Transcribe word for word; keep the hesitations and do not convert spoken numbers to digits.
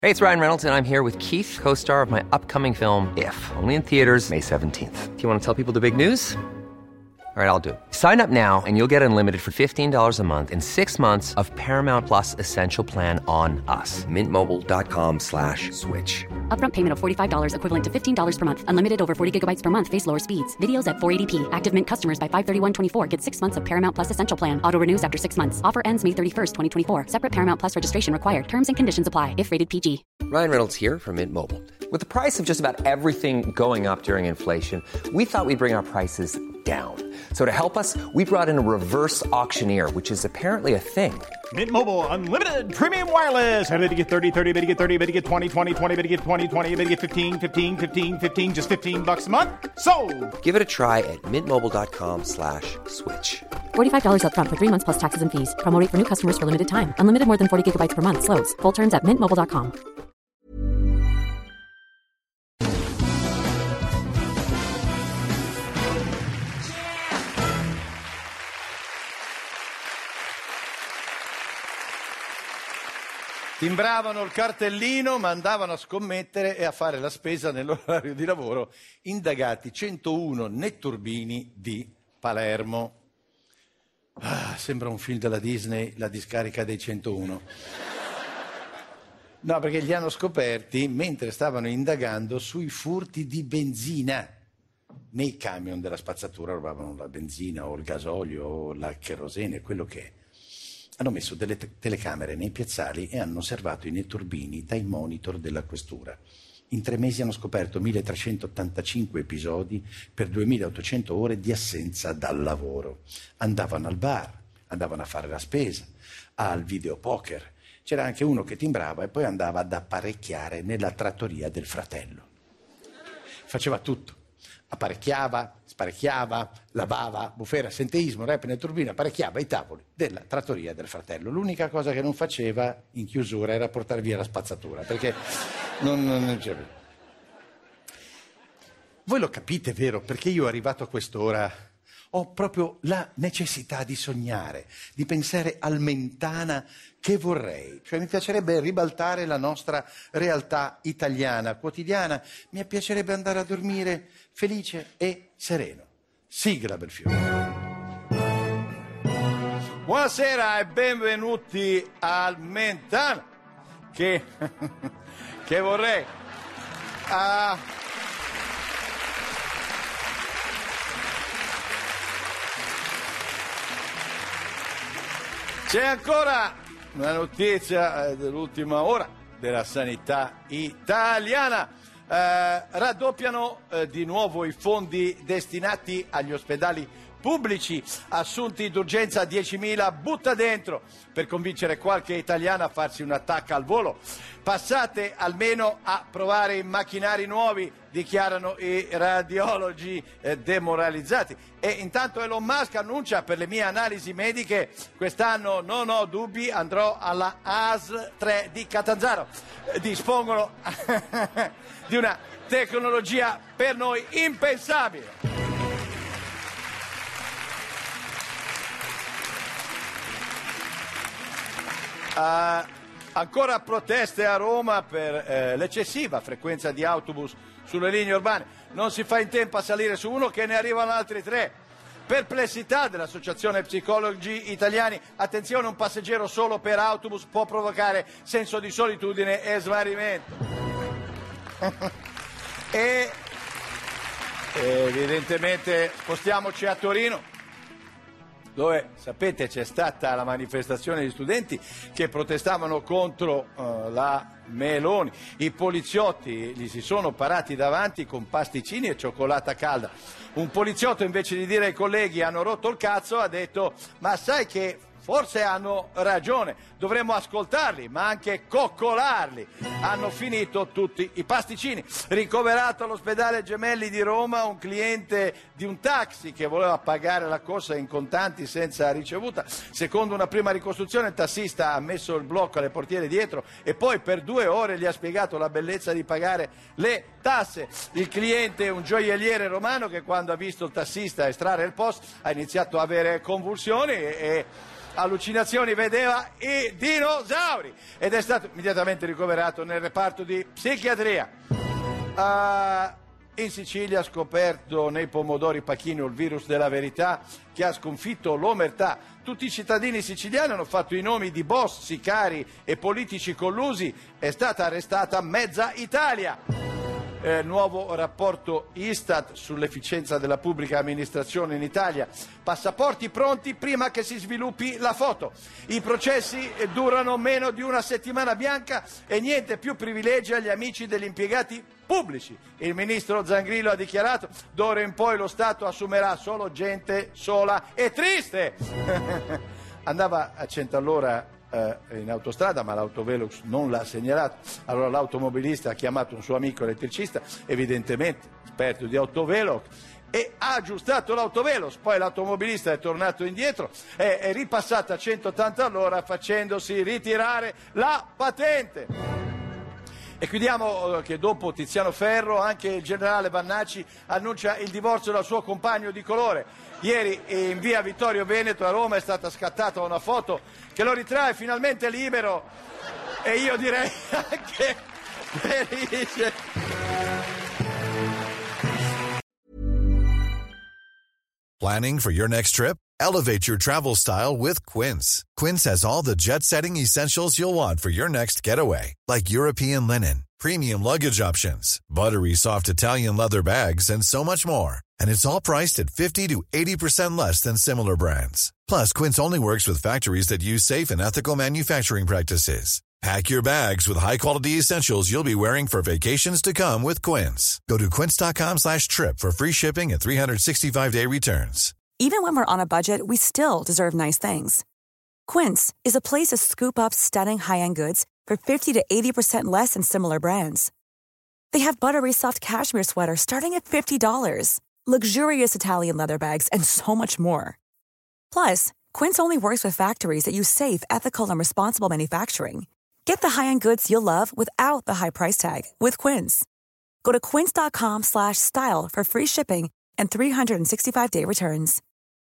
Hey, it's Ryan Reynolds, and I'm here with Keith, co-star of my upcoming film, If, only in theaters May seventeenth. Do you want to tell people the big news? All right, I'll do it. Sign up now and you'll get unlimited for fifteen dollars a month and six months of Paramount Plus Essential Plan on us. Mintmobile.com slash switch. Upfront payment of forty-five dollars equivalent to fifteen dollars per month. Unlimited over forty gigabytes per month. Face lower speeds. Videos at four eighty p. Active Mint customers by five thirty-one twenty-four get six months of Paramount Plus Essential Plan. Auto renews after six months. Offer ends May thirty-first, twenty twenty-four. Separate Paramount Plus registration required. Terms and conditions apply if rated P G. Ryan Reynolds here from Mint Mobile. With the price of just about everything going up during inflation, we thought we'd bring our prices down. So to help us, we brought in a reverse auctioneer, which is apparently a thing. Mint Mobile Unlimited Premium Wireless. How to get thirty, thirty, how to get thirty, how to get twenty, twenty, twenty, how to get twenty, twenty, how to get fifteen, fifteen, fifteen, fifteen, just fifteen bucks a month? Sold! Give it a try at mintmobile.com slash switch. forty-five dollars up front for three months plus taxes and fees. Promo rate for new customers for limited time. Unlimited more than forty gigabytes per month. Slows full terms at mint mobile dot com. Timbravano il cartellino, ma andavano a scommettere e a fare la spesa nell'orario di lavoro. Indagati centouno netturbini di Palermo. Ah, sembra un film della Disney, La discarica dei centouno. No, perché li hanno scoperti mentre stavano indagando sui furti di benzina. Nei camion della spazzatura rubavano la benzina o il gasolio o la cherosene, quello che è. Hanno messo delle te- telecamere nei piazzali e hanno osservato i netturbini dai monitor della questura. In tre mesi hanno scoperto milletrecentottantacinque episodi per duemilaottocento ore di assenza dal lavoro. Andavano al bar, andavano a fare la spesa, al videopoker. C'era anche uno che timbrava e poi andava ad apparecchiare nella trattoria del fratello. Faceva tutto. Apparecchiava, sparecchiava, lavava, bufera, senteismo, rap nel turbino, apparecchiava i tavoli della trattoria del fratello. L'unica cosa che non faceva in chiusura era portare via la spazzatura, perché non, non c'è più. Voi lo capite, vero? Perché io arrivato a quest'ora ho proprio la necessità di sognare, di pensare al Mentana che vorrei. Cioè mi piacerebbe ribaltare la nostra realtà italiana, quotidiana. Mi piacerebbe andare a dormire felice e sereno. Sigla, Belfiore. Buonasera e benvenuti al Mentana che, che vorrei. Uh, C'è ancora una notizia eh, dell'ultima ora della sanità italiana. Eh, raddoppiano eh, di nuovo i fondi destinati agli ospedali pubblici, assunti d'urgenza diecimila butta dentro per convincere qualche italiano a farsi un attacco al volo. Passate almeno a provare i macchinari nuovi, dichiarano i radiologi eh, demoralizzati. E intanto Elon Musk annuncia: per le mie analisi mediche quest'anno non ho dubbi, andrò alla A S L tre di Catanzaro. Eh, dispongono di una tecnologia per noi impensabile. Uh, ancora proteste a Roma per eh, l'eccessiva frequenza di autobus sulle linee urbane. Non si fa in tempo a salire su uno che ne arrivano altri tre. Perplessità dell'Associazione Psicologi Italiani. Attenzione, un passeggero solo per autobus può provocare senso di solitudine e smarrimento. E evidentemente spostiamoci a Torino, dove, sapete, c'è stata la manifestazione di studenti che protestavano contro uh, la Meloni. I poliziotti gli si sono parati davanti con pasticcini e cioccolata calda. Un poliziotto, invece di dire ai colleghi hanno rotto il cazzo, ha detto: ma sai che forse hanno ragione, dovremmo ascoltarli, ma anche coccolarli. Hanno finito tutti i pasticcini. Ricoverato all'ospedale Gemelli di Roma un cliente di un taxi che voleva pagare la corsa in contanti senza ricevuta. Secondo una prima ricostruzione, il tassista ha messo il blocco alle portiere dietro e poi per due ore gli ha spiegato la bellezza di pagare le tasse. Il cliente è un gioielliere romano che, quando ha visto il tassista estrarre il post, ha iniziato a avere convulsioni e allucinazioni, vedeva i dinosauri ed è stato immediatamente ricoverato nel reparto di psichiatria. Uh, in Sicilia ha scoperto nei pomodori Pachino il virus della verità che ha sconfitto l'omertà. Tutti i cittadini siciliani hanno fatto i nomi di boss, sicari e politici collusi. È stata arrestata mezza Italia. Eh, nuovo rapporto Istat sull'efficienza della pubblica amministrazione in Italia. Passaporti pronti prima che si sviluppi la foto. I processi durano meno di una settimana bianca e niente più privilegi agli amici degli impiegati pubblici. Il ministro Zangrillo ha dichiarato: d'ora in poi lo Stato assumerà solo gente sola e triste. Andava a cento all'ora in autostrada, ma l'autovelox non l'ha segnalato. Allora l'automobilista ha chiamato un suo amico elettricista, evidentemente esperto di autovelox, e ha aggiustato l'autovelox. Poi l'automobilista è tornato indietro e è ripassato a centottanta all'ora facendosi ritirare la patente. E chiudiamo che dopo Tiziano Ferro anche il generale Vannacci annuncia il divorzio dal suo compagno di colore. Ieri in via Vittorio Veneto a Roma è stata scattata una foto che lo ritrae finalmente libero e io direi anche felice. Planning for your next trip? Elevate your travel style with Quince. Quince has all the jet-setting essentials you'll want for your next getaway, like European linen, premium luggage options, buttery soft Italian leather bags, and so much more. And it's all priced at fifty to eighty percent less than similar brands. Plus, Quince only works with factories that use safe and ethical manufacturing practices. Pack your bags with high-quality essentials you'll be wearing for vacations to come with Quince. Go to quince.com slash trip for free shipping and three sixty-five day returns. Even when we're on a budget, we still deserve nice things. Quince is a place to scoop up stunning high-end goods for fifty to eighty percent less than similar brands. They have buttery soft cashmere sweaters starting at fifty dollars, luxurious Italian leather bags, and so much more. Plus, Quince only works with factories that use safe, ethical, and responsible manufacturing. Get the high-end goods you'll love without the high price tag with Quince. Go to quince.com slash style for free shipping and three sixty-five day returns.